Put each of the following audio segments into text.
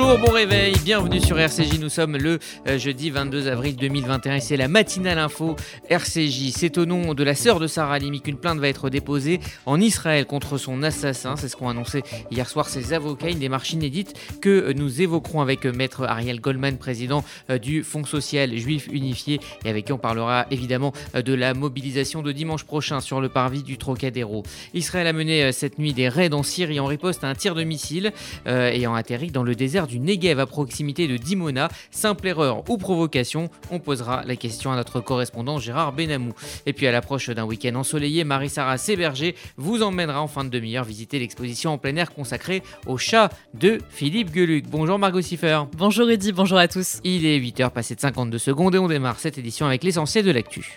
Bonjour, bon réveil, bienvenue sur RCJ. Nous sommes le jeudi 22 avril 2021 et c'est la matinale info RCJ. C'est au nom de la sœur de Sarah Halimi qu'une plainte va être déposée en Israël contre son assassin. C'est ce qu'ont annoncé hier soir ses avocats. Une démarche inédite que nous évoquerons avec maître Ariel Goldman, président du Fonds social juif unifié, et avec qui on parlera évidemment de la mobilisation de dimanche prochain sur le parvis du Trocadéro. Israël a mené cette nuit des raids en Syrie en riposte à un tir de missile ayant atterri dans le désert du Negev à proximité de Dimona. Simple erreur ou provocation? On posera la question à notre correspondant Gérard Benamou. Et puis à l'approche d'un week-end ensoleillé, Marie-Sarah Séberger vous emmènera en fin de demi-heure visiter l'exposition en plein air consacrée au chat de Philippe Geluck. Bonjour Margot Siffer. Bonjour Rudy, bonjour à tous. Il est 8h passé de 52 secondes et on démarre cette édition avec l'essentiel de l'actu.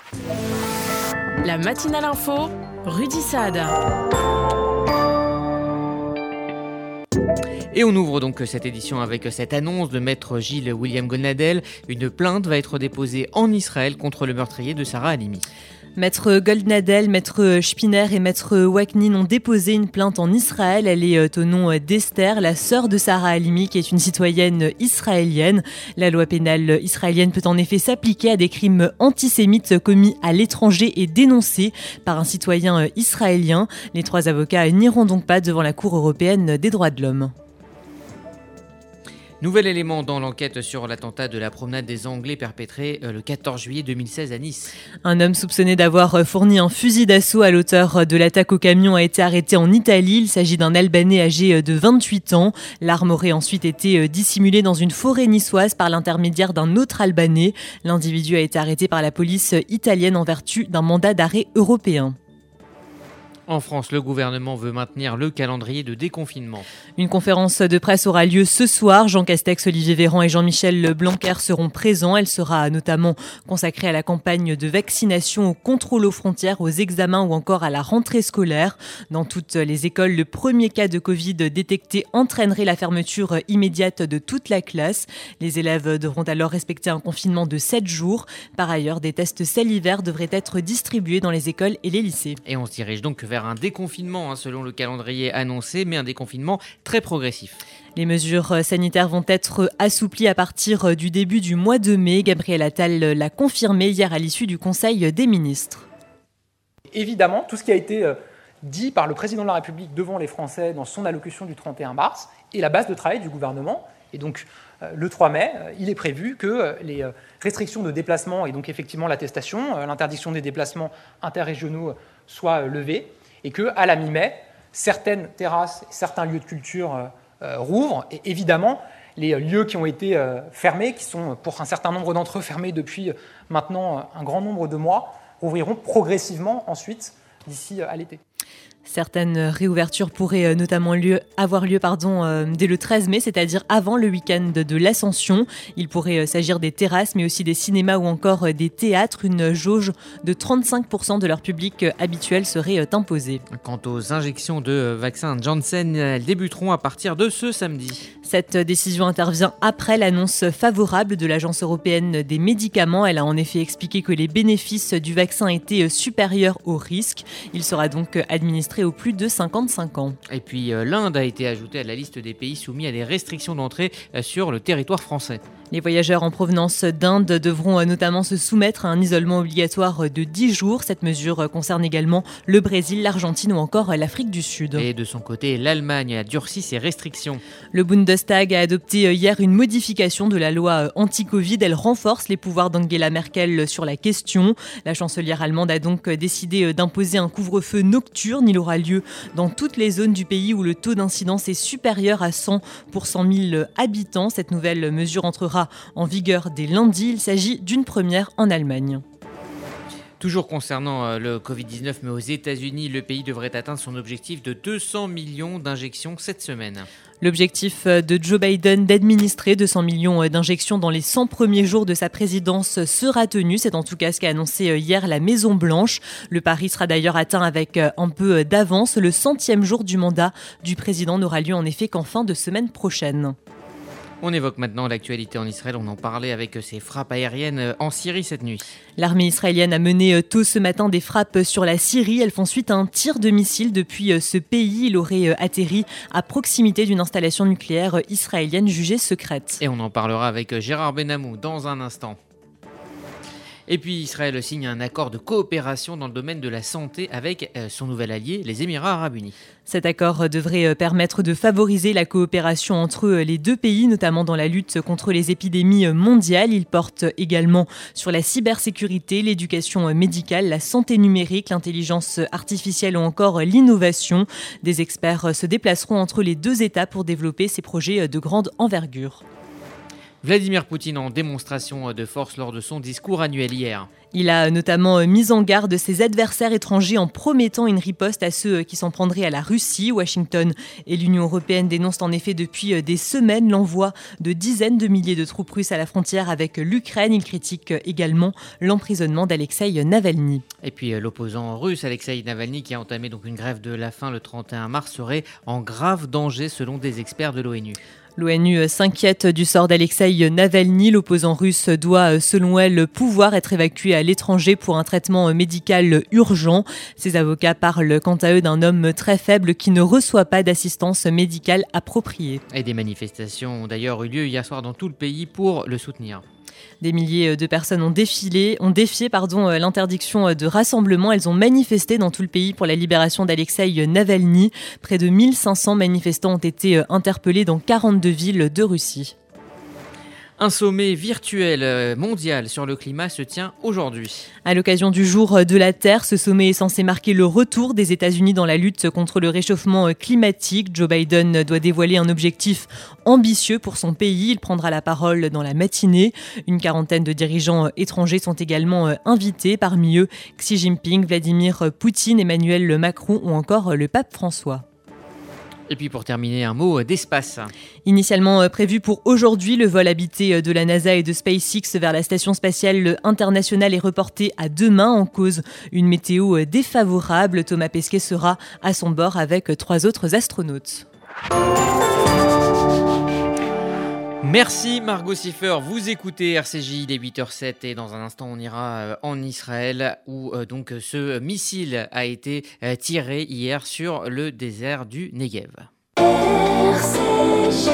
La matinale info, Rudy Saad. Et on ouvre donc cette édition avec cette annonce de maître Gilles William Goldnadel. Une plainte va être déposée en Israël contre le meurtrier de Sarah Halimi. Maître Goldnadel, maître Spinner et maître Waknin ont déposé une plainte en Israël. Elle est au nom d'Esther, la sœur de Sarah Halimi, qui est une citoyenne israélienne. La loi pénale israélienne peut en effet s'appliquer à des crimes antisémites commis à l'étranger et dénoncés par un citoyen israélien. Les trois avocats n'iront donc pas devant la Cour européenne des droits de l'homme. Nouvel élément dans l'enquête sur l'attentat de la promenade des Anglais perpétré le 14 juillet 2016 à Nice. Un homme soupçonné d'avoir fourni un fusil d'assaut à l'auteur de l'attaque au camion a été arrêté en Italie. Il s'agit d'un Albanais âgé de 28 ans. L'arme aurait ensuite été dissimulée dans une forêt niçoise par l'intermédiaire d'un autre Albanais. L'individu a été arrêté par la police italienne en vertu d'un mandat d'arrêt européen. En France, le gouvernement veut maintenir le calendrier de déconfinement. Une conférence de presse aura lieu ce soir. Jean Castex, Olivier Véran et Jean-Michel Blanquer seront présents. Elle sera notamment consacrée à la campagne de vaccination, au contrôle aux frontières, aux examens ou encore à la rentrée scolaire. Dans toutes les écoles, le premier cas de Covid détecté entraînerait la fermeture immédiate de toute la classe. Les élèves devront alors respecter un confinement de 7 jours. Par ailleurs, des tests salivaires devraient être distribués dans les écoles et les lycées. Et on se dirige donc vers un déconfinement selon le calendrier annoncé, mais un déconfinement très progressif. Les mesures sanitaires vont être assouplies à partir du début du mois de mai. Gabriel Attal l'a confirmé hier à l'issue du Conseil des ministres. Évidemment, tout ce qui a été dit par le président de la République devant les Français dans son allocution du 31 mars est la base de travail du gouvernement. Et donc, le 3 mai, il est prévu que les restrictions de déplacement et donc effectivement l'attestation, l'interdiction des déplacements interrégionaux soient levées et qu'à la mi-mai, certaines terrasses et certains lieux de culture rouvrent. Et évidemment, les lieux qui ont été fermés, qui sont pour un certain nombre d'entre eux fermés depuis maintenant un grand nombre de mois, rouvriront progressivement ensuite d'ici à l'été. Certaines réouvertures pourraient notamment avoir lieu dès le 13 mai, c'est-à-dire avant le week-end de l'Ascension. Il pourrait s'agir des terrasses, mais aussi des cinémas ou encore des théâtres. Une jauge de 35% de leur public habituel serait imposée. Quant aux injections de vaccins Janssen, elles débuteront à partir de ce samedi. Cette décision intervient après l'annonce favorable de l'Agence européenne des médicaments. Elle a en effet expliqué que les bénéfices du vaccin étaient supérieurs aux risques. Il sera donc administré aux plus de 55 ans. Et puis l'Inde a été ajoutée à la liste des pays soumis à des restrictions d'entrée sur le territoire français. Les voyageurs en provenance d'Inde devront notamment se soumettre à un isolement obligatoire de 10 jours. Cette mesure concerne également le Brésil, l'Argentine ou encore l'Afrique du Sud. Et de son côté, l'Allemagne a durci ses restrictions. Le Bundestag a adopté hier une modification de la loi anti-Covid. Elle renforce les pouvoirs d'Angela Merkel sur la question. La chancelière allemande a donc décidé d'imposer un couvre-feu nocturne. Il aura lieu dans toutes les zones du pays où le taux d'incidence est supérieur à 100 pour 100 000 habitants. Cette nouvelle mesure entrera en vigueur dès lundi. Il s'agit d'une première en Allemagne. Toujours concernant le Covid-19, mais aux États-Unis, le pays devrait atteindre son objectif de 200 millions d'injections cette semaine. L'objectif de Joe Biden d'administrer 200 millions d'injections dans les 100 premiers jours de sa présidence sera tenu. C'est en tout cas ce qu'a annoncé hier la Maison-Blanche. Le pari sera d'ailleurs atteint avec un peu d'avance. Le 100e jour du mandat du président n'aura lieu en effet qu'en fin de semaine prochaine. On évoque maintenant l'actualité en Israël. On en parlait avec ces frappes aériennes en Syrie cette nuit. L'armée israélienne a mené tôt ce matin des frappes sur la Syrie. Elles font suite à un tir de missile depuis ce pays. Il aurait atterri à proximité d'une installation nucléaire israélienne jugée secrète. Et on en parlera avec Gérard Benamou dans un instant. Et puis Israël signe un accord de coopération dans le domaine de la santé avec son nouvel allié, les Émirats arabes unis. Cet accord devrait permettre de favoriser la coopération entre les deux pays, notamment dans la lutte contre les épidémies mondiales. Il porte également sur la cybersécurité, l'éducation médicale, la santé numérique, l'intelligence artificielle ou encore l'innovation. Des experts se déplaceront entre les deux États pour développer ces projets de grande envergure. Vladimir Poutine en démonstration de force lors de son discours annuel hier. Il a notamment mis en garde ses adversaires étrangers en promettant une riposte à ceux qui s'en prendraient à la Russie. Washington et l'Union européenne dénoncent en effet depuis des semaines l'envoi de dizaines de milliers de troupes russes à la frontière avec l'Ukraine. Il critique également l'emprisonnement d'Alexeï Navalny. Et puis l'opposant russe Alexeï Navalny, qui a entamé donc une grève de la faim le 31 mars, serait en grave danger selon des experts de l'ONU. L'ONU s'inquiète du sort d'Alexeï Navalny. L'opposant russe doit, selon elle, pouvoir être évacué à l'étranger pour un traitement médical urgent. Ses avocats parlent quant à eux d'un homme très faible qui ne reçoit pas d'assistance médicale appropriée. Et des manifestations ont d'ailleurs eu lieu hier soir dans tout le pays pour le soutenir. Des milliers de personnes ont défié l'interdiction de rassemblement. Elles ont manifesté dans tout le pays pour la libération d'Alexeï Navalny. Près de 1500 manifestants ont été interpellés dans 42 villes de Russie. Un sommet virtuel mondial sur le climat se tient aujourd'hui. À l'occasion du Jour de la Terre, ce sommet est censé marquer le retour des États-Unis dans la lutte contre le réchauffement climatique. Joe Biden doit dévoiler un objectif ambitieux pour son pays. Il prendra la parole dans la matinée. Une quarantaine de dirigeants étrangers sont également invités. Parmi eux, Xi Jinping, Vladimir Poutine, Emmanuel Macron ou encore le pape François. Et puis pour terminer, un mot d'espace. Initialement prévu pour aujourd'hui, le vol habité de la NASA et de SpaceX vers la Station spatiale internationale est reporté à demain en cause une météo défavorable. Thomas Pesquet sera à son bord avec 3 autres astronautes. Merci Margot Siffer, vous écoutez RCJ, il est 8h07 et dans un instant on ira en Israël où donc ce missile a été tiré hier sur le désert du Negev. RCJ.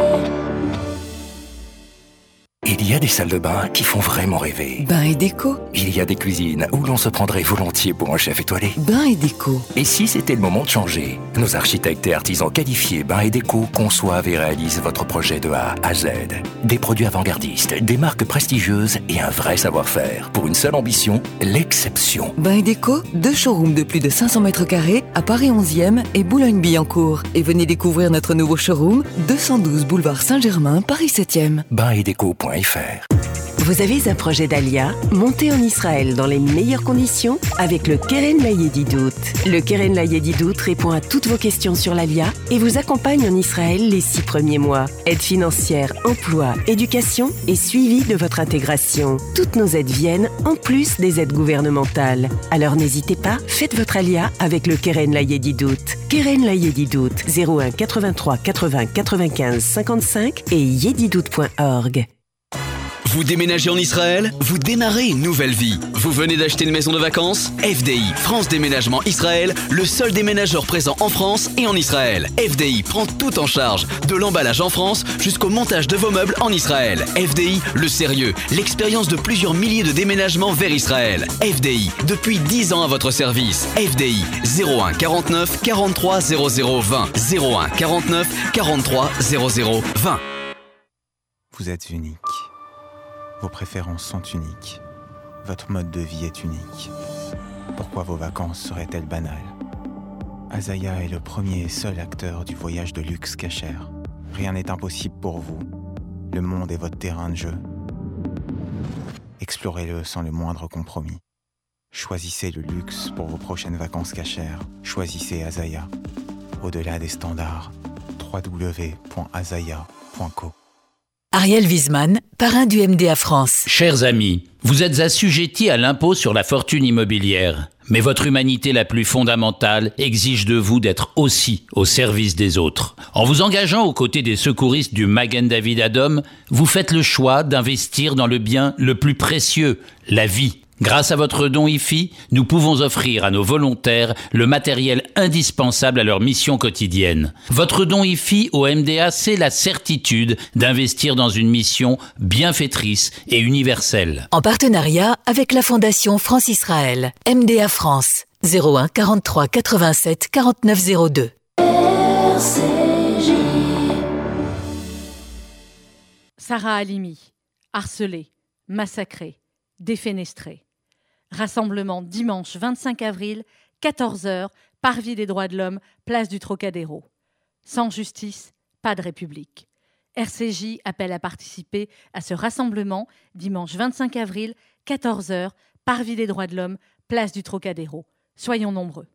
Il y a des salles de bain qui font vraiment rêver. Bain et déco. Il y a des cuisines où l'on se prendrait volontiers pour un chef étoilé. Bain et déco. Et si c'était le moment de changer? Nos architectes et artisans qualifiés Bain et déco conçoivent et réalisent votre projet de A à Z. Des produits avant-gardistes, des marques prestigieuses et un vrai savoir-faire. Pour une seule ambition, l'exception. Bain et déco, 2 showrooms de plus de 500 mètres carrés à Paris 11e et Boulogne-Billancourt. Et venez découvrir notre nouveau showroom, 212 boulevard Saint-Germain, Paris 7e. Bainetdeco.fr. Vous avez un projet d'Alia? Montez en Israël dans les meilleures conditions avec le Keren Layedidout. Le Keren Layedidout répond à toutes vos questions sur l'Alia et vous accompagne en Israël les 6 premiers mois. Aide financière, emploi, éducation et suivi de votre intégration. Toutes nos aides viennent en plus des aides gouvernementales. Alors n'hésitez pas, faites votre Alia avec le Keren Layedidout. Keren Layedidout, 01 83 80 95 55 et yedidout.org. Vous déménagez en Israël? Vous démarrez une nouvelle vie. Vous venez d'acheter une maison de vacances? FDI, France Déménagement Israël, le seul déménageur présent en France et en Israël. FDI prend tout en charge, de l'emballage en France jusqu'au montage de vos meubles en Israël. FDI, le sérieux, l'expérience de plusieurs milliers de déménagements vers Israël. FDI, depuis 10 ans à votre service. FDI, 01 49 43 00 20. 01 49 43 00 20. Vous êtes unique. Vos préférences sont uniques. Votre mode de vie est unique. Pourquoi vos vacances seraient-elles banales? Azaya est le premier et seul acteur du voyage de luxe Cacher. Rien n'est impossible pour vous. Le monde est votre terrain de jeu. Explorez-le sans le moindre compromis. Choisissez le luxe pour vos prochaines vacances Cacher. Choisissez Azaya. Au-delà des standards, www.azaya.co. Ariel Wiesman, parrain du MDA France. Chers amis, vous êtes assujettis à l'impôt sur la fortune immobilière. Mais votre humanité la plus fondamentale exige de vous d'être aussi au service des autres. En vous engageant aux côtés des secouristes du Magen David Adom, vous faites le choix d'investir dans le bien le plus précieux, la vie. Grâce à votre don IFI, nous pouvons offrir à nos volontaires le matériel indispensable à leur mission quotidienne. Votre don IFI au MDA, c'est la certitude d'investir dans une mission bienfaitrice et universelle. En partenariat avec la Fondation France-Israël, MDA France, 01 43 87 49 02. Sarah Halimi, harcelée, massacrée, défenestrée. Rassemblement dimanche 25 avril, 14h, Parvis des droits de l'homme, place du Trocadéro. Sans justice, pas de République. RCJ appelle à participer à ce rassemblement dimanche 25 avril, 14h, Parvis des droits de l'homme, place du Trocadéro. Soyons nombreux.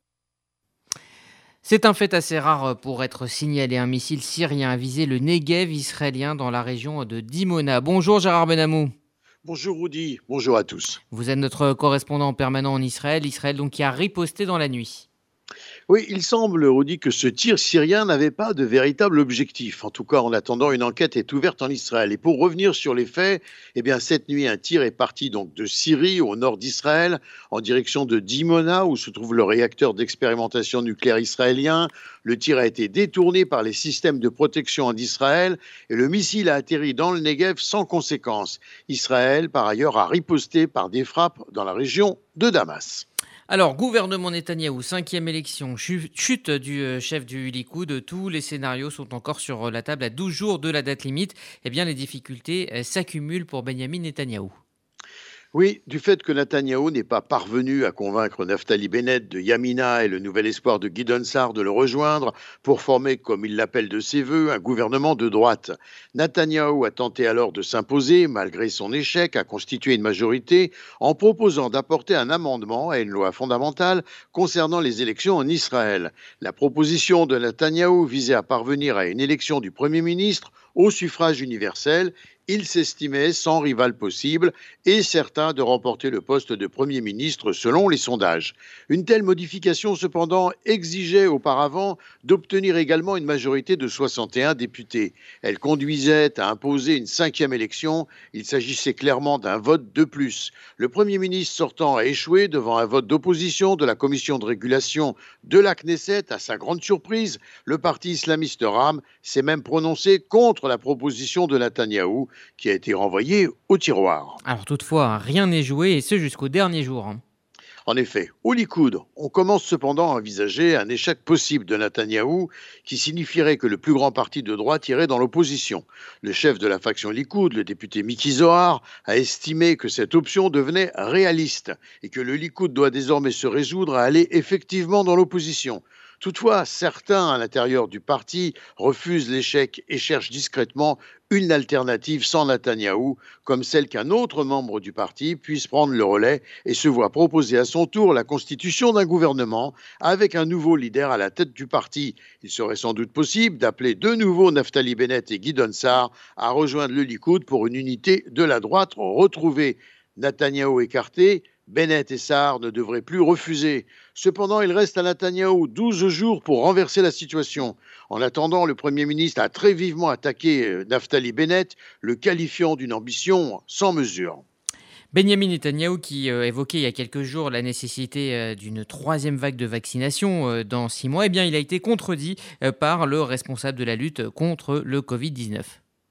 C'est un fait assez rare pour être signalé. Un missile syrien a visé le Negev israélien dans la région de Dimona. Bonjour Gérard Benamou. Bonjour Rudy, bonjour à tous. Vous êtes notre correspondant permanent en Israël. Israël donc qui a riposté dans la nuit. Oui, il semble, Rudy, que ce tir syrien n'avait pas de véritable objectif. En tout cas, en attendant, une enquête est ouverte en Israël. Et pour revenir sur les faits, eh bien, cette nuit, un tir est parti donc de Syrie, au nord d'Israël, en direction de Dimona, où se trouve le réacteur d'expérimentation nucléaire israélien. Le tir a été détourné par les systèmes de protection d'Israël et le missile a atterri dans le Negev sans conséquence. Israël, par ailleurs, a riposté par des frappes dans la région de Damas. Alors, gouvernement Netanyahou, 5e élection, chute du chef du Likoud, tous les scénarios sont encore sur la table à 12 jours de la date limite. Eh bien, les difficultés s'accumulent pour Benyamin Netanyahou. Oui, du fait que Netanyahou n'est pas parvenu à convaincre Naftali Bennett de Yamina et le nouvel espoir de Gideon Sa'ar de le rejoindre pour former, comme il l'appelle de ses voeux, un gouvernement de droite. Netanyahou a tenté alors de s'imposer, malgré son échec à constituer une majorité, en proposant d'apporter un amendement à une loi fondamentale concernant les élections en Israël. La proposition de Netanyahou visait à parvenir à une élection du Premier ministre au suffrage universel. Il s'estimait sans rival possible et certain de remporter le poste de Premier ministre selon les sondages. Une telle modification, cependant, exigeait auparavant d'obtenir également une majorité de 61 députés. Elle conduisait à imposer une 5e élection. Il s'agissait clairement d'un vote de plus. Le Premier ministre sortant a échoué devant un vote d'opposition de la commission de régulation de la Knesset. À sa grande surprise, le parti islamiste RAM s'est même prononcé contre la proposition de Netanyahou, qui a été renvoyé au tiroir. Alors toutefois, rien n'est joué, et ce jusqu'au dernier jour. En effet, au Likoud, on commence cependant à envisager un échec possible de Netanyahou, qui signifierait que le plus grand parti de droite irait dans l'opposition. Le chef de la faction Likoud, le député Miki Zohar, a estimé que cette option devenait réaliste et que le Likoud doit désormais se résoudre à aller effectivement dans l'opposition. Toutefois, certains à l'intérieur du parti refusent l'échec et cherchent discrètement une alternative sans Netanyahou, comme celle qu'un autre membre du parti puisse prendre le relais et se voit proposer à son tour la constitution d'un gouvernement avec un nouveau leader à la tête du parti. Il serait sans doute possible d'appeler de nouveau Naftali Bennett et Gideon Sa'ar à rejoindre le Likoud pour une unité de la droite retrouvée. Netanyahou écarté, Bennett et Sa'ar ne devraient plus refuser. Cependant, il reste à Netanyahou 12 jours pour renverser la situation. En attendant, le Premier ministre a très vivement attaqué Naftali Bennett, le qualifiant d'une ambition sans mesure. Benyamin Netanyahou qui évoquait il y a quelques jours la nécessité d'une 3e vague de vaccination dans 6 mois, eh bien, il a été contredit par le responsable de la lutte contre le Covid-19.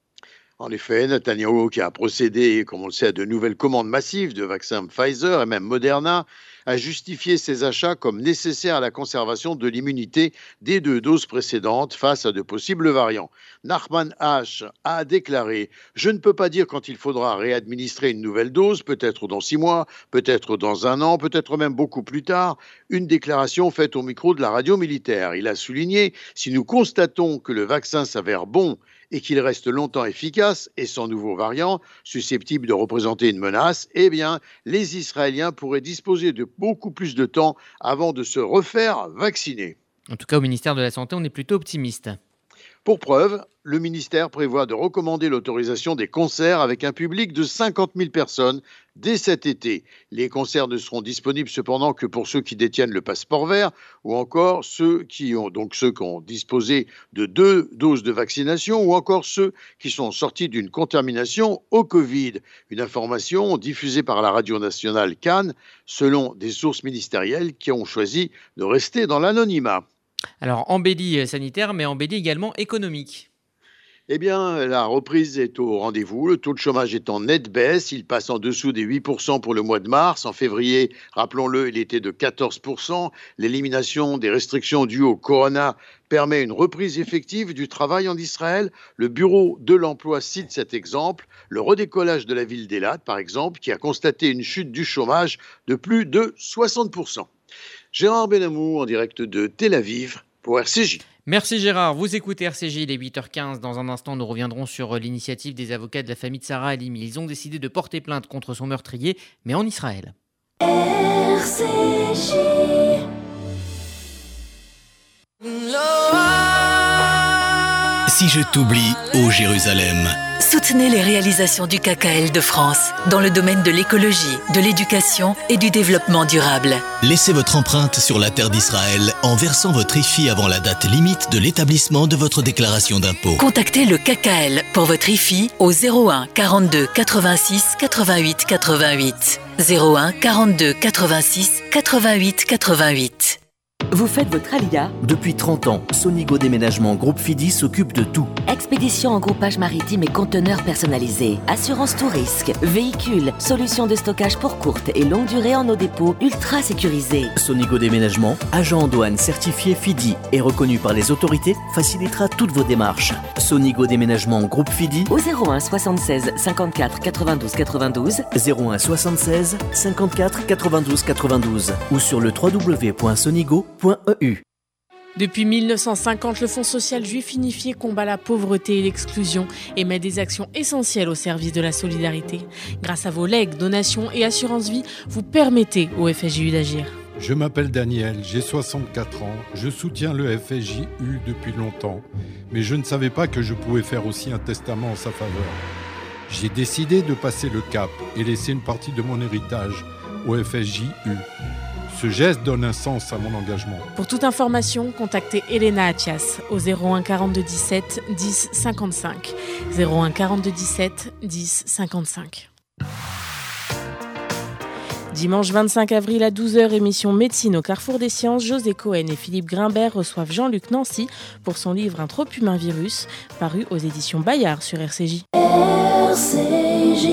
En effet, Netanyahou, qui a procédé, comme on le sait, à de nouvelles commandes massives de vaccins Pfizer et même Moderna, a justifié ces achats comme nécessaires à la conservation de l'immunité des 2 doses précédentes face à de possibles variants. Nachman H. a déclaré « Je ne peux pas dire quand il faudra réadministrer une nouvelle dose, peut-être dans 6 mois, peut-être dans 1 an, peut-être même beaucoup plus tard », une déclaration faite au micro de la radio militaire. Il a souligné « Si nous constatons que le vaccin s'avère bon et qu'il reste longtemps efficace et sans nouveaux variants susceptibles de représenter une menace, eh bien, les Israéliens pourraient disposer de beaucoup plus de temps avant de se refaire vacciner. » En tout cas, au ministère de la Santé, on est plutôt optimiste. Pour preuve, le ministère prévoit de recommander l'autorisation des concerts avec un public de 50 000 personnes dès cet été. Les concerts ne seront disponibles cependant que pour ceux qui détiennent le passeport vert ou encore ceux qui ont disposé de 2 doses de vaccination ou encore ceux qui sont sortis d'une contamination au Covid. Une information diffusée par la radio nationale Cannes selon des sources ministérielles qui ont choisi de rester dans l'anonymat. Alors, embellie sanitaire, mais embellie également économique. Eh bien, la reprise est au rendez-vous. Le taux de chômage est en nette baisse. Il passe en dessous des 8% pour le mois de mars. En février, rappelons-le, il était de 14%. L'élimination des restrictions dues au corona permet une reprise effective du travail en Israël. Le bureau de l'emploi cite cet exemple. Le redécollage de la ville d'Eilat, par exemple, qui a constaté une chute du chômage de plus de 60%. Gérard Benamou en direct de Tel Aviv pour RCJ. Merci Gérard, vous écoutez RCJ, il est 8h15. Dans un instant, nous reviendrons sur l'initiative des avocats de la famille de Sarah Halimi. Ils ont décidé de porter plainte contre son meurtrier, mais en Israël. RCJ. Si je t'oublie, ô Jérusalem. Soutenez les réalisations du KKL de France dans le domaine de l'écologie, de l'éducation et du développement durable. Laissez votre empreinte sur la terre d'Israël en versant votre IFI avant la date limite de l'établissement de votre déclaration d'impôt. Contactez le KKL pour votre IFI au 01 42 86 88 88. 01 42 86 88 88. Vous faites votre alia? Depuis 30 ans, Sonigo Déménagement Groupe Fidi s'occupe de tout. Expédition en groupage maritime et conteneurs personnalisés, assurance tout risque, véhicules, solutions de stockage pour courte et longue durée en nos dépôts ultra sécurisés. Sonigo Déménagement, agent en douane certifié Fidi et reconnu par les autorités, facilitera toutes vos démarches. Sonigo Déménagement Groupe Fidi au 01 76 54 92 92 01 76 54 92 92 ou sur le www.sonigo.eu. Depuis 1950, le Fonds social juif unifié combat la pauvreté et l'exclusion et met des actions essentielles au service de la solidarité. Grâce à vos legs, donations et assurances vie, vous permettez au FSJU d'agir. Je m'appelle Daniel, j'ai 64 ans, je soutiens le FSJU depuis longtemps, mais je ne savais pas que je pouvais faire aussi un testament en sa faveur. J'ai décidé de passer le cap et laisser une partie de mon héritage au FSJU. Ce geste donne un sens à mon engagement. Pour toute information, contactez Elena Atias au 01 42 17 10 55. 01 42 17 10 55. Dimanche 25 avril à 12h, émission Médecine au Carrefour des Sciences. José Cohen et Philippe Grimbert reçoivent Jean-Luc Nancy pour son livre Un trop humain virus, paru aux éditions Bayard sur RCJ. RCJ.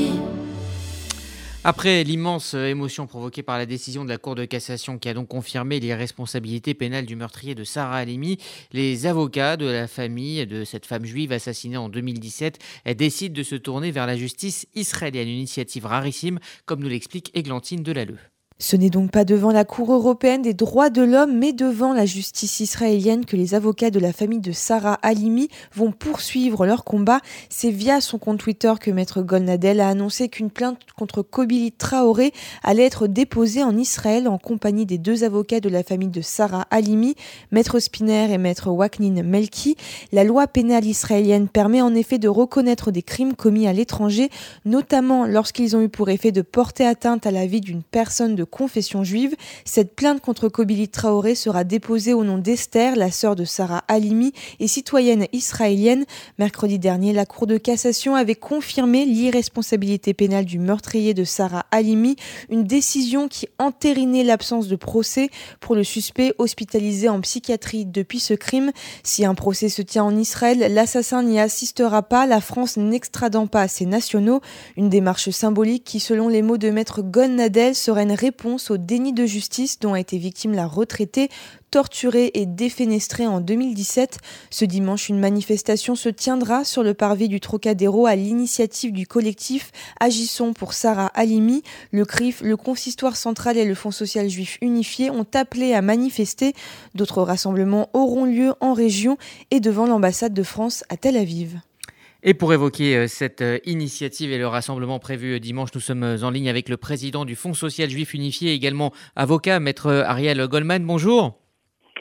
Après l'immense émotion provoquée par la décision de la Cour de cassation qui a donc confirmé l'irresponsabilité pénale du meurtrier de Sarah Halimi, les avocats de la famille de cette femme juive assassinée en 2017 décident de se tourner vers la justice israélienne. Une initiative rarissime, comme nous l'explique Églantine Delalleux. Ce n'est donc pas devant la Cour européenne des droits de l'homme, mais devant la justice israélienne que les avocats de la famille de Sarah Halimi vont poursuivre leur combat. C'est via son compte Twitter que Maître Golnadel a annoncé qu'une plainte contre Kobili Traoré allait être déposée en Israël en compagnie des 2 avocats de la famille de Sarah Halimi, Maître Spinner et Maître Waknin Melki. La loi pénale israélienne permet en effet de reconnaître des crimes commis à l'étranger, notamment lorsqu'ils ont eu pour effet de porter atteinte à la vie d'une personne de confession juive. Cette plainte contre Kobili Traoré sera déposée au nom d'Esther, la sœur de Sarah Halimi et citoyenne israélienne. Mercredi dernier, la Cour de cassation avait confirmé l'irresponsabilité pénale du meurtrier de Sarah Halimi, une décision qui entérinait l'absence de procès pour le suspect hospitalisé en psychiatrie depuis ce crime. Si un procès se tient en Israël, l'assassin n'y assistera pas, la France n'extradant pas ses nationaux. Une démarche symbolique qui, selon les mots de Maître Golnadel, serait une réponse au déni de justice dont a été victime la retraitée, torturée et défenestrée en 2017. Ce dimanche, une manifestation se tiendra sur le parvis du Trocadéro à l'initiative du collectif Agissons pour Sarah Halimi. Le CRIF, le Consistoire central et le Fonds social juif unifié ont appelé à manifester. D'autres rassemblements auront lieu en région et devant l'ambassade de France à Tel Aviv. Et pour évoquer cette initiative et le rassemblement prévu dimanche, nous sommes en ligne avec le président du Fonds social juif unifié, également avocat, maître Ariel Goldman. Bonjour.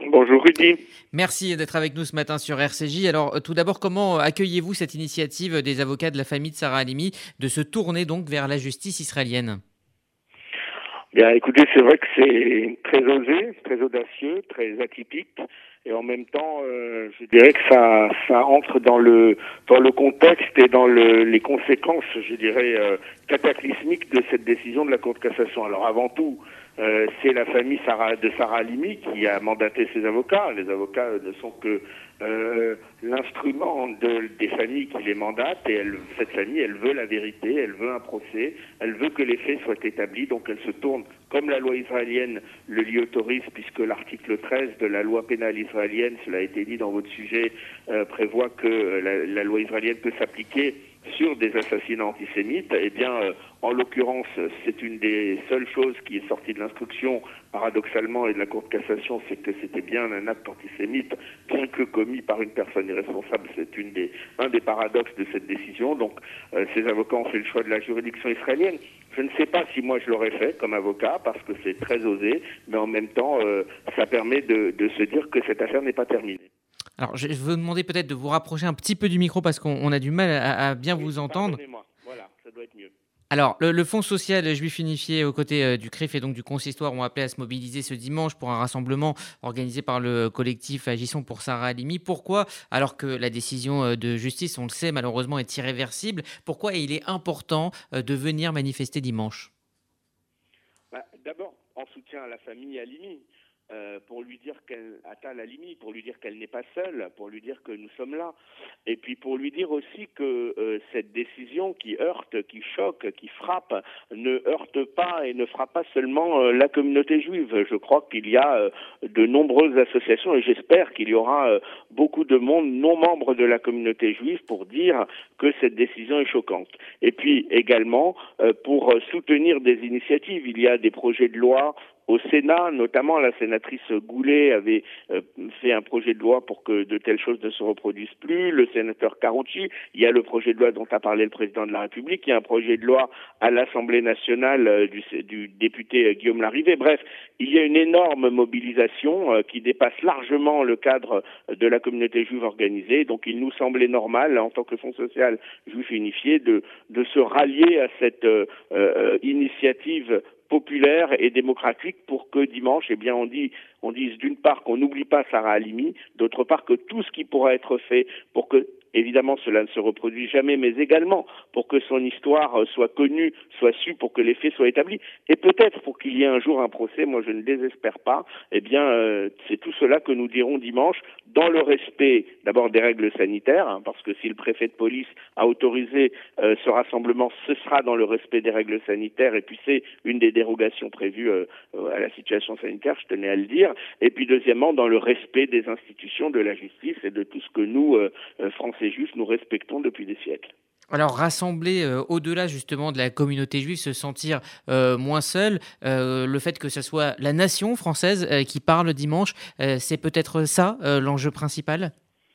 Bonjour Rudy. Merci d'être avec nous ce matin sur RCJ. Alors tout d'abord, comment accueillez-vous cette initiative des avocats de la famille de Sarah Halimi de se tourner donc vers la justice israélienne ? Bien, écoutez, c'est vrai que c'est très osé, très audacieux, très atypique, et en même temps, je dirais que ça entre dans le contexte et dans les conséquences, je dirais, cataclysmiques de cette décision de la Cour de cassation. Alors avant tout, c'est la famille de Sarah Halimi qui a mandaté ses avocats. Les avocats ne sont que l'instrument des familles qui les mandatent, et cette famille, elle veut la vérité, elle veut un procès, elle veut que les faits soient établis, donc elle se tourne, comme la loi israélienne le lui autorise, puisque l'article 13 de la loi pénale israélienne, cela a été dit dans votre sujet, prévoit que la loi israélienne peut s'appliquer sur des assassinats antisémites. Eh bien, en l'occurrence, c'est une des seules choses qui est sortie de l'instruction, paradoxalement, et de la Cour de cassation, c'est que c'était bien un acte antisémite, bien que commis par une personne irresponsable. C'est un des paradoxes de cette décision. Donc, ces avocats ont fait le choix de la juridiction israélienne. Je ne sais pas si moi je l'aurais fait comme avocat, parce que c'est très osé, mais en même temps, ça permet de se dire que cette affaire n'est pas terminée. Alors, je vais vous demander peut-être de vous rapprocher un petit peu du micro parce qu'on a du mal à bien vous entendre. Pardonnez-moi, voilà, ça doit être mieux. Alors, le Fonds social juif unifié aux côtés du CRIF et donc du Consistoire ont appelé à se mobiliser ce dimanche pour un rassemblement organisé par le collectif Agissons pour Sarah Halimi. Pourquoi, alors que la décision de justice, on le sait, malheureusement est irréversible, pourquoi il est important de venir manifester dimanche ? D'abord, en soutien à la famille Halimi. Pour lui dire pour lui dire qu'elle n'est pas seule, pour lui dire que nous sommes là, et puis pour lui dire aussi que cette décision qui heurte, qui choque, qui frappe, ne heurte pas et ne frappe pas seulement la communauté juive. Je crois qu'il y a de nombreuses associations, et j'espère qu'il y aura beaucoup de monde non membre de la communauté juive pour dire que cette décision est choquante. Et puis également pour soutenir des initiatives. Il y a des projets de loi au Sénat, notamment la sénatrice Goulet avait fait un projet de loi pour que de telles choses ne se reproduisent plus. Le sénateur Carucci, il y a le projet de loi dont a parlé le président de la République, il y a un projet de loi à l'Assemblée nationale du député Guillaume Larrivé. Bref, il y a une énorme mobilisation qui dépasse largement le cadre de la communauté juive organisée. Donc il nous semblait normal, en tant que Fonds social juif unifié, de se rallier à cette initiative populaire et démocratique pour que dimanche, eh bien, on dise d'une part qu'on n'oublie pas Sarah Halimi, d'autre part que tout ce qui pourra être fait pour que, évidemment, cela ne se reproduise jamais, mais également pour que son histoire soit connue, soit sue, pour que les faits soient établis, et peut-être pour qu'il y ait un jour un procès, moi je ne désespère pas, eh bien, c'est tout cela que nous dirons dimanche, dans le respect d'abord des règles sanitaires, hein, parce que si le préfet de police a autorisé ce rassemblement, ce sera dans le respect des règles sanitaires, et puis c'est une des dérogations prévues à la situation sanitaire, je tenais à le dire, et puis deuxièmement, dans le respect des institutions de la justice et de tout ce que nous, Français juifs, nous respectons depuis des siècles. Alors, rassembler au-delà justement de la communauté juive, se sentir moins seul, le fait que ce soit la nation française qui parle dimanche, c'est peut-être ça l'enjeu principal ?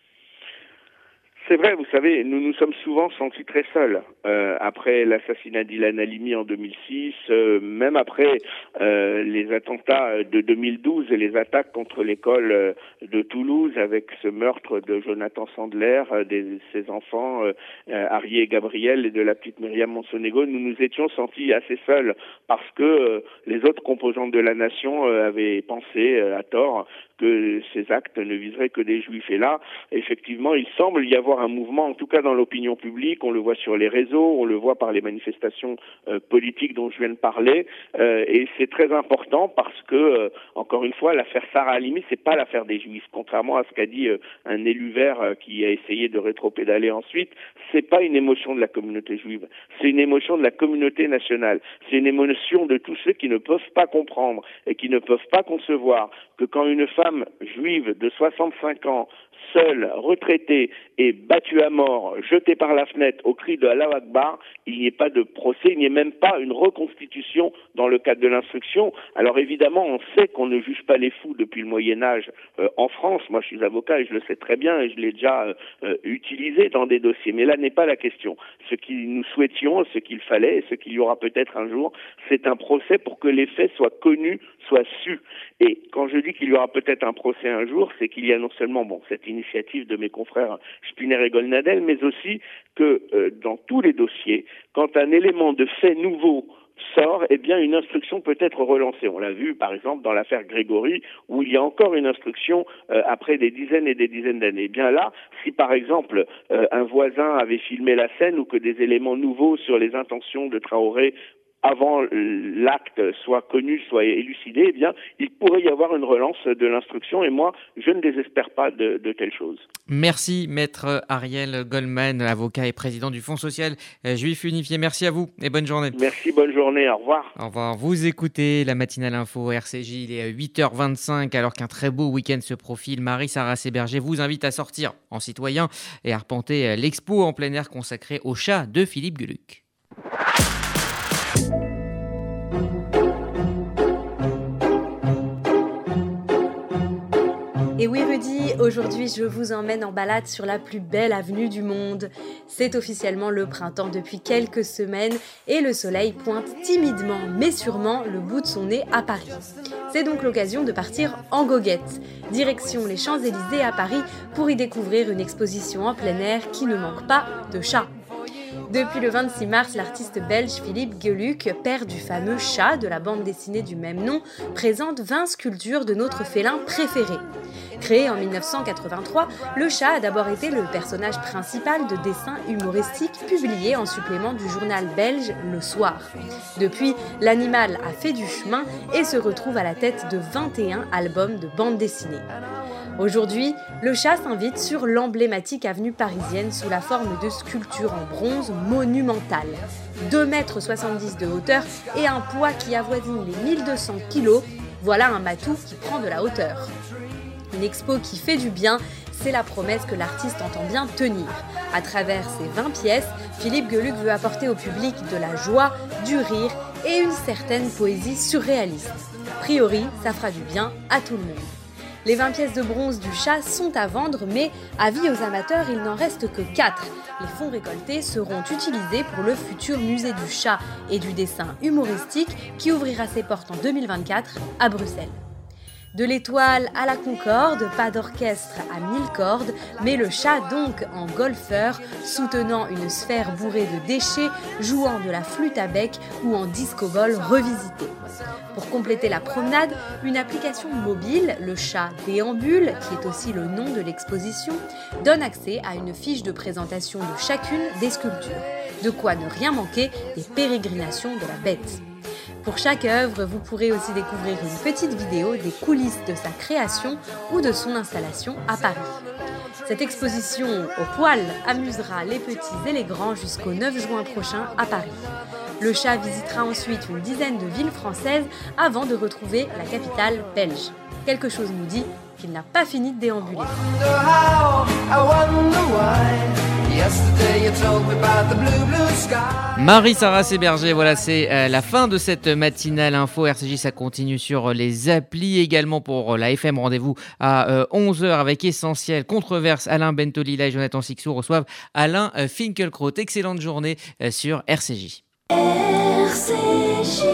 C'est vrai, vous savez, nous nous sommes souvent sentis très seuls. Après l'assassinat d'Ilan Halimi en 2006, même après les attentats de 2012 et les attaques contre l'école de Toulouse avec ce meurtre de Jonathan Sandler, ses enfants, Harry et Gabriel, et de la petite Myriam Monsonego, nous nous étions sentis assez seuls parce que les autres composantes de la nation avaient pensé à tort que ces actes ne viseraient que des juifs. Et là, effectivement, il semble y avoir un mouvement, en tout cas dans l'opinion publique, on le voit sur les réseaux, on le voit par les manifestations politiques dont je viens de parler, et c'est très important parce que, encore une fois, l'affaire Sarah Halimi, c'est pas l'affaire des juifs, contrairement à ce qu'a dit un élu vert qui a essayé de rétropédaler ensuite, c'est pas une émotion de la communauté juive, c'est une émotion de la communauté nationale, c'est une émotion de tous ceux qui ne peuvent pas comprendre et qui ne peuvent pas concevoir que quand une femme juive de 65 ans seul, retraité et battu à mort, jeté par la fenêtre au cri de Allahu Akbar, il n'y ait pas de procès, il n'y ait même pas une reconstitution dans le cadre de l'instruction. Alors évidemment, on sait qu'on ne juge pas les fous depuis le Moyen-Âge en France. Moi, je suis avocat et je le sais très bien et je l'ai déjà utilisé dans des dossiers. Mais là n'est pas la question. Ce que nous souhaitions, ce qu'il fallait et ce qu'il y aura peut-être un jour, c'est un procès pour que les faits soient connus, soient sus. Et quand je dis qu'il y aura peut-être un procès un jour, c'est qu'il y a non seulement cette initiative de mes confrères Spinner et Golnadel, mais aussi que dans tous les dossiers, quand un élément de fait nouveau sort, eh bien une instruction peut être relancée. On l'a vu par exemple dans l'affaire Grégory, où il y a encore une instruction après des dizaines et des dizaines d'années. Eh bien là, si par exemple un voisin avait filmé la scène ou que des éléments nouveaux sur les intentions de Traoré avant l'acte soit connu, soit élucidé, eh bien, il pourrait y avoir une relance de l'instruction et moi, je ne désespère pas de telles choses. Merci, maître Ariel Goldman, avocat et président du Fonds social juif unifié. Merci à vous et bonne journée. Merci, bonne journée, au revoir. Au revoir. Vous écoutez la matinale info RCJ, il est 8h25 alors qu'un très beau week-end se profile. Marie-Sarah Séberger vous invite à sortir en citoyen et à arpenter l'expo en plein air consacrée au chat de Philippe Gueluc. Et oui Rudy, aujourd'hui je vous emmène en balade sur la plus belle avenue du monde. C'est officiellement le printemps depuis quelques semaines et le soleil pointe timidement mais sûrement le bout de son nez à Paris. C'est donc l'occasion de partir en goguette. Direction les Champs-Élysées à Paris pour y découvrir une exposition en plein air qui ne manque pas de chats. Depuis le 26 mars, l'artiste belge Philippe Gueluc, père du fameux chat de la bande dessinée du même nom, présente 20 sculptures de notre félin préféré. Créé en 1983, le chat a d'abord été le personnage principal de dessins humoristiques publiés en supplément du journal belge Le Soir. Depuis, l'animal a fait du chemin et se retrouve à la tête de 21 albums de bande dessinée. Aujourd'hui, le chat s'invite sur l'emblématique avenue parisienne sous la forme de sculptures en bronze monumentales. 2,70 m de hauteur et un poids qui avoisine les 1200 kg, voilà un matou qui prend de la hauteur. Une expo qui fait du bien, c'est la promesse que l'artiste entend bien tenir. À travers ses 20 pièces, Philippe Gueluc veut apporter au public de la joie, du rire et une certaine poésie surréaliste. A priori, ça fera du bien à tout le monde. Les 20 pièces de bronze du chat sont à vendre, mais avis aux amateurs, il n'en reste que 4. Les fonds récoltés seront utilisés pour le futur musée du chat et du dessin humoristique qui ouvrira ses portes en 2024 à Bruxelles. De l'étoile à la Concorde, pas d'orchestre à 1000 cordes, mais le chat donc en golfeur, soutenant une sphère bourrée de déchets, jouant de la flûte à bec ou en disco-ball revisité. Pour compléter la promenade, une application mobile, le chat déambule, qui est aussi le nom de l'exposition, donne accès à une fiche de présentation de chacune des sculptures. De quoi ne rien manquer des pérégrinations de la bête. Pour chaque œuvre, vous pourrez aussi découvrir une petite vidéo des coulisses de sa création ou de son installation à Paris. Cette exposition au poil amusera les petits et les grands jusqu'au 9 juin prochain à Paris. Le chat visitera ensuite une dizaine de villes françaises avant de retrouver la capitale belge. Quelque chose nous dit qu'il n'a pas fini de déambuler. Marie-Sarah Séberger, voilà, c'est la fin de cette matinale info. RCJ, ça continue sur les applis également pour la FM. Rendez-vous à 11h avec Essentiel, Controverse. Alain Bentolila et Jonathan Sixou reçoivent Alain Finkielkraut. Excellente journée sur RCJ. RCJ.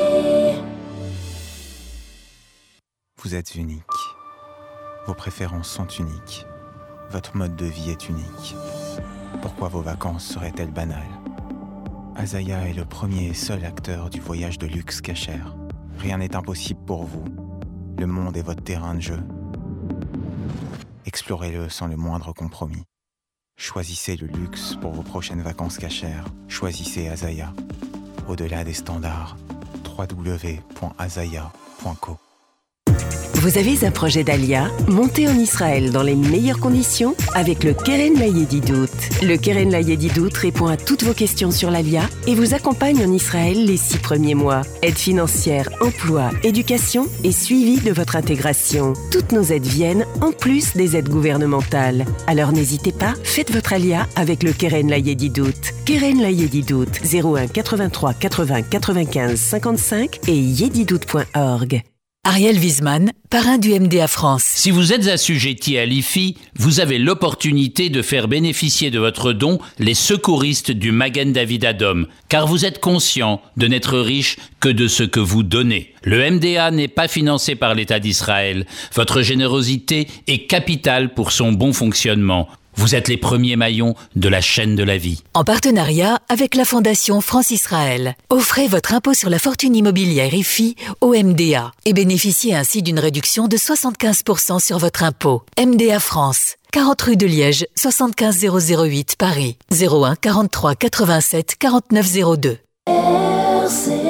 Vous êtes unique. Vos préférences sont uniques. Votre mode de vie est unique. Pourquoi vos vacances seraient-elles banales ? Azaya est le premier et seul acteur du voyage de luxe Cacher. Rien n'est impossible pour vous. Le monde est votre terrain de jeu. Explorez-le sans le moindre compromis. Choisissez le luxe pour vos prochaines vacances Cacher. Choisissez Azaya. Au-delà des standards, www.azaya.co. Vous avez un projet d'Alia? Montez en Israël dans les meilleures conditions avec le Keren Layedidout. Le Keren Layedidout répond à toutes vos questions sur l'Alia et vous accompagne en Israël les 6 premiers mois. Aide financière, emploi, éducation et suivi de votre intégration. Toutes nos aides viennent en plus des aides gouvernementales. Alors n'hésitez pas, faites votre Alia avec le Keren Layedidout. Keren Layedidout, 01 83 80 95 55 et yedidout.org. Ariel Wiesman, parrain du MDA France. Si vous êtes assujetti à l'IFI, vous avez l'opportunité de faire bénéficier de votre don les secouristes du Magen David Adom, car vous êtes conscient de n'être riche que de ce que vous donnez. Le MDA n'est pas financé par l'État d'Israël. Votre générosité est capitale pour son bon fonctionnement. Vous êtes les premiers maillons de la chaîne de la vie. En partenariat avec la Fondation France-Israël, offrez votre impôt sur la fortune immobilière IFI au MDA et bénéficiez ainsi d'une réduction de 75% sur votre impôt. MDA France, 40 rue de Liège, 75 008 Paris, 01 43 87 49 02. RCJ.